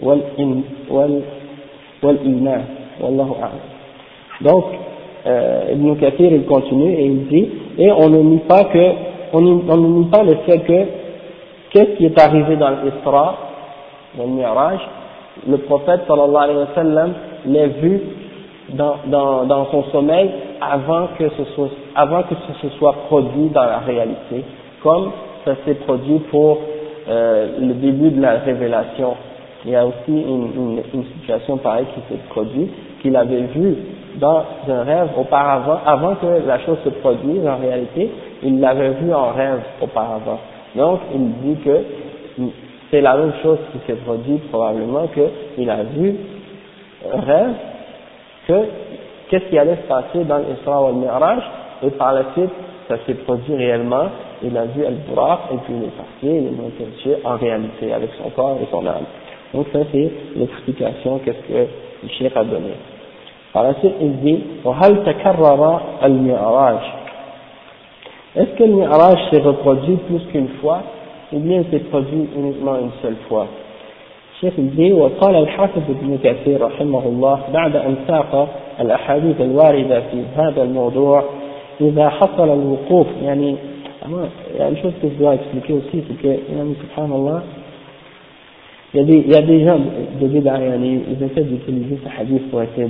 والإيمان والله أعلم. Donc Ibn Kathir il continue et il dit, et on ne nie pas le fait que qu'est-ce qui est arrivé dans l'Isra, dans le Mi'raj, le prophète sallallahu alayhi wa sallam l'ait vu dans son sommeil avant que ce se soit produit dans la réalité, comme ça s'est produit pour le début de la révélation. Il y a aussi une situation pareille qui s'est produite, qu'il avait vu dans un rêve auparavant, avant que la chose se produise en réalité, il l'avait vu en rêve auparavant. Donc il dit que c'est la même chose qui s'est produite probablement, qu'il a vu un rêve, qu'est-ce qui allait se passer dans l'Isra ou le Mi'raj, et par la suite ça s'est produit réellement, il a vu Al-Buraq, et puis il est parti, il est monté dessus en réalité avec son corps et son âme. Donc ça c'est l'explication qu'est-ce que le Cheikh a donné. Par la suite il dit وَهَلْ تَكَرَّرَ الْمِعْرَاج, est-ce que le Mi'raj s'est reproduit plus qu'une fois, ou bien s'est produit uniquement une seule fois? الشيخ الدين وقال الحافظ ابن كثير رحمه الله بعد أن ساق الأحاديث الواردة في هذا الموضوع إذا حصل الوقوف يعني chose que je dois expliquer aussi c'est que subhanallah il y a des gens de bid'a ils essaient d'utiliser ce hadith pour essayer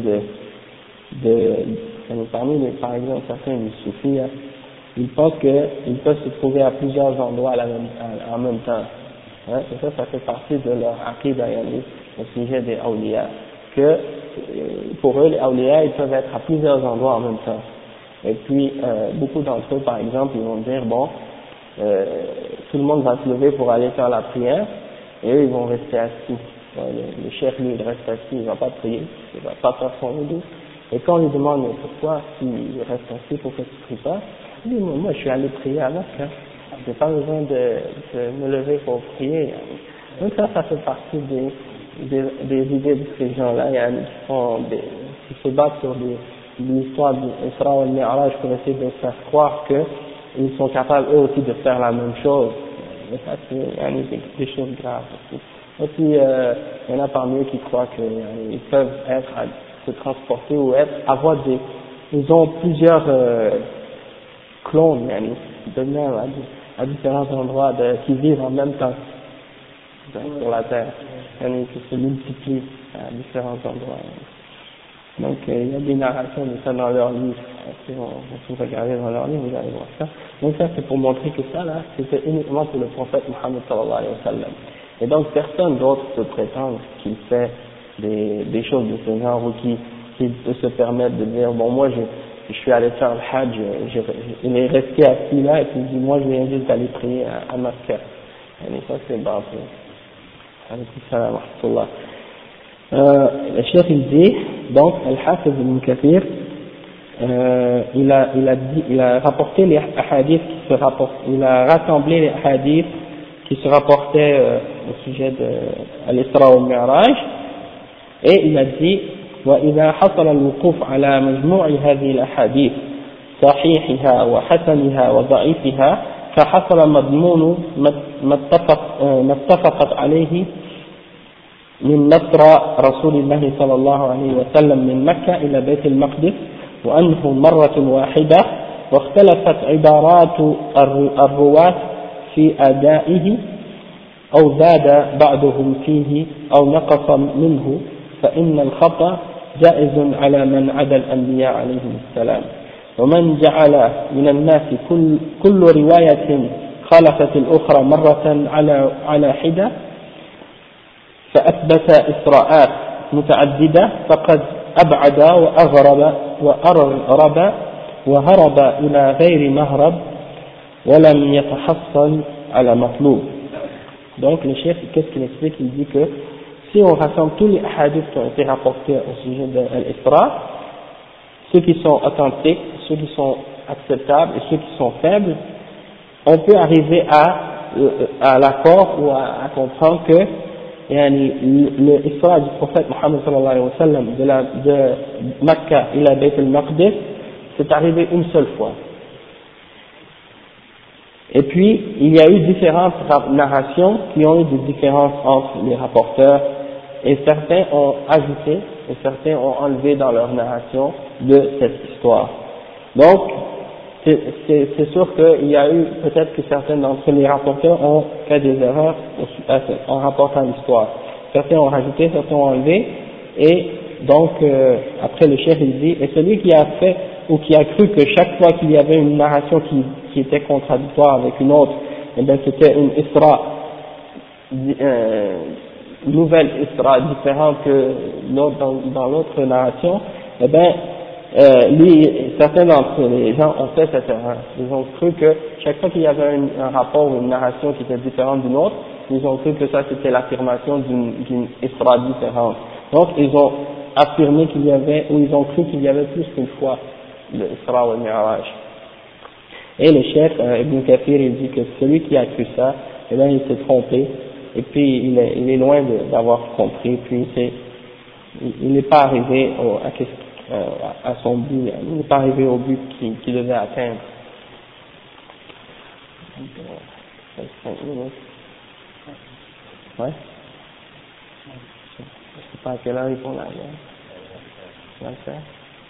par exemple certains des soufis ils pensent qu'ils peuvent se trouver à plusieurs endroits en même temps. Et ça fait partie de leur aqida au sujet des awliya, que pour eux les awliya ils peuvent être à plusieurs endroits en même temps. Et puis beaucoup d'entre eux par exemple ils vont dire tout le monde va se lever pour aller faire la prière et eux ils vont rester assis. Le chef lui il reste assis, il va pas prier, il va pas faire son wudu. Et quand on lui demande mais pourquoi s'il reste assis, pourquoi tu pries pas, il dit moi je suis allé prier à Mecca. J'ai pas besoin de me lever pour prier. Donc ça fait partie des idées de ces gens-là, qui se battent sur l'histoire d'Isra ou al-Mi'raj pour essayer de faire croire qu'ils sont capables eux aussi de faire la même chose. Mais ça, c'est des choses graves aussi. Et puis, il y en a parmi eux qui croient qu'ils peuvent se transporter ou avoir ils ont plusieurs clones, de même à différents endroits qui vivent en même temps sur la terre, qui se multiplient à différents endroits. Donc, il y a des narrations de ça dans leur livre. Si vous regardez dans leur livre, vous allez voir ça. Donc ça, c'est pour montrer que ça, là, c'était uniquement pour le prophète Mohammed sallallahu alayhi wa sallam. Et donc, personne d'autre se prétend qu'il fait des choses de ce genre ou qui peut se permettre de dire, bon, moi, je suis allé faire le Hajj, il est resté assis là, et puis il dit, moi, je viens juste d'aller prier à Makkah. Et ça, c'est bon. Alaykum salam wa rahmatullah. Le cheikh il dit, donc, Al-Hafiz ibn Kathir, il a rapporté les hadiths qui se rapportent, il a rassemblé les hadiths qui se rapportaient au sujet de l'Isra wal Mi'raj, et il a dit, وإذا حصل الوقوف على مجموع هذه الأحاديث صحيحها وحسنها وضعيفها فحصل مضمون ما اتفقت عليه من نصر رسول الله صلى الله عليه وسلم من مكة إلى بيت المقدس وأنه مرة واحدة واختلفت عبارات الرواة في أدائه أو زاد بعضهم فيه أو نقص منه فإن الخطأ جائز على من عدا الأنبياء عليهم السلام ومن جعل من الناس كل رواية خالفت الأخرى مرة على حدة فأثبت إسراءات متعددة فقد أبعد وأغرب وهرب إلى غير مهرب ولم يتحصل على مطلوب. Donc le chef, qu'est-ce qu'il explique? Il dit que si on rassemble tous les hadiths qui ont été rapportés au sujet de l'Isra, ceux qui sont authentiques, ceux qui sont acceptables et ceux qui sont faibles, on peut arriver à l'accord ou à comprendre que le Isra du prophète Mohammed sallallahu alayhi wa sallam de Makkah ila Bayt al-Maqdis, c'est arrivé une seule fois. Et puis, il y a eu différentes narrations qui ont eu des différences entre les rapporteurs, et certains ont ajouté, et certains ont enlevé dans leur narration de cette histoire. Donc, c'est sûr qu'il y a eu, peut-être que certains d'entre les rapporteurs ont fait des erreurs en rapportant l'histoire. Certains ont rajouté, certains ont enlevé, et donc, après le chef il dit, et celui qui a fait, ou qui a cru que chaque fois qu'il y avait une narration qui était contradictoire avec une autre, eh bien c'était une Isra, nouvelle Isra différente que l'autre dans l'autre narration, eh bien certains d'entre les gens ont fait cette erreur. Ils ont cru que chaque fois qu'il y avait un rapport ou une narration qui était différente d'une autre, ils ont cru que ça c'était l'affirmation d'une Isra différente. Donc ils ont affirmé qu'il y avait, ou ils ont cru qu'il y avait plus qu'une fois le Isra ou le Mi'raj. Et le chef Ibn Kathir il dit que celui qui a cru ça, eh bien il s'est trompé, et puis il est loin d'avoir compris, puis il n'est pas arrivé à son but, il n'est pas arrivé au but qu'il devait atteindre. Ouais. Je sais pas à quelle heure ils font la guerre. On va le faire.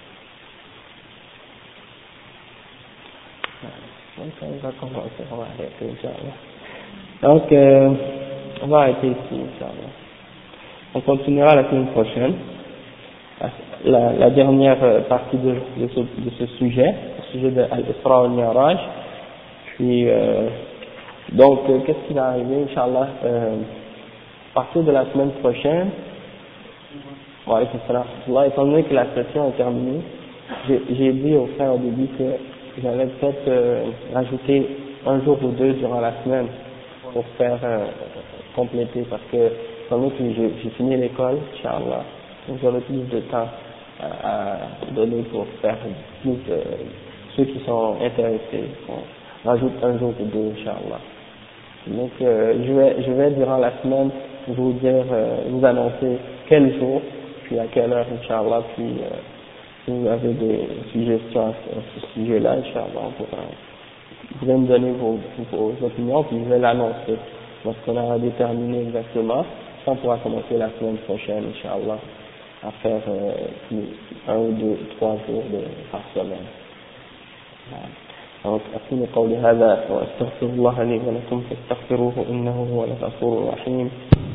Donc on va commencer, on va arrêter, Inch'Allah. Donc on va arrêter ici, Inch'Allah. On continuera la semaine prochaine, la dernière partie de ce sujet, le sujet de Al-Isra wal-Mi'raj. Puis donc qu'est-ce qui va arriver, Inch'Allah, à partir de la semaine prochaine, étant donné que la session est terminée, j'ai dit aux frères au début que j'allais peut-être rajouter un jour ou deux durant la semaine pour faire compléter, parce que étant donné que j'ai fini l'école, Inch'Allah, donc j'aurai plus de temps à donner pour faire plus ceux qui sont intéressés. On rajoute un jour ou deux, Inch'Allah. Donc je vais durant la semaine vous dire, vous annoncer quel jour, puis à quelle heure, Inch'Allah, puis Si vous avez des suggestions à ce sujet-là, Inch'Allah, vous pouvez me donner vos opinions, puis je vais l'annoncer. Lorsqu'on aura déterminé exactement, ça on pourra commencer la semaine prochaine, Inch'Allah, à faire 1 ou 2, 3 jours par semaine. أقول قولي هذا وأستغفر الله لي ولكم فاستغفروه إنه هو الغفور الرحيم